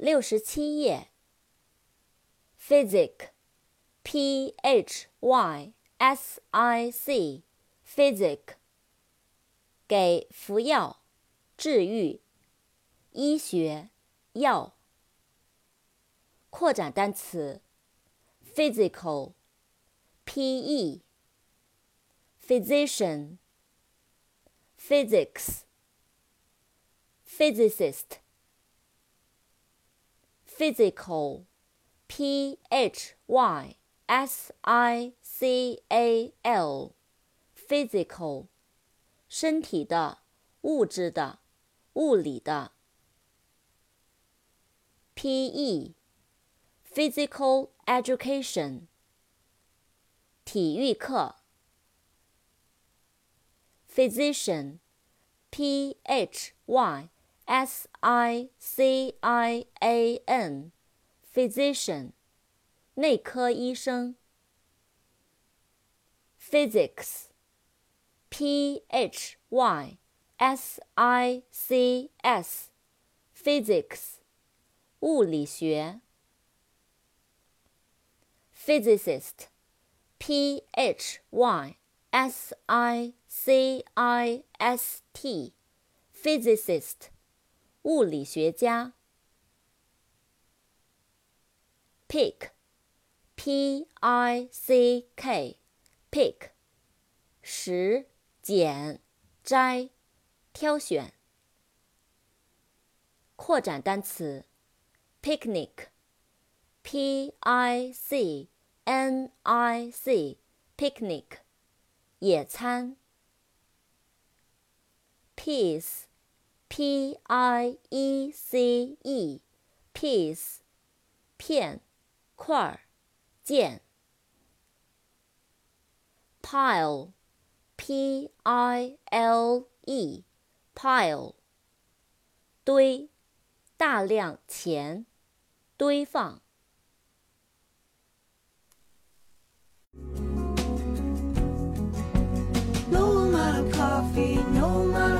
67页 Physic P-H-Y-S-I-C Physic 给服药、治愈、医学、药。扩展单词 Physical P-E Physician Physics Physicist Physical P-H-Y-S-I-C-A-L Physical 身体的、物质的、物理的。P-E Physical Education 体育课。Physician P-H-Y-S-I-C-I-A-N Physician 内科医生。Physics P-H-Y-S-I-C-S Physics 物理学。Physicist P-H-Y-S-I-C-I-S-T Physicist 物理学家。Pick P-I-C-K Pick 拾、捡、摘、挑选。扩展单词 Picnic P-I-C-N-I-C Picnic 野餐。Piece P-I-E-C-E Piece 片、块、件。Pile P-I-L-E Pile 堆，大量钱，堆放。 No amount of coffee, no amount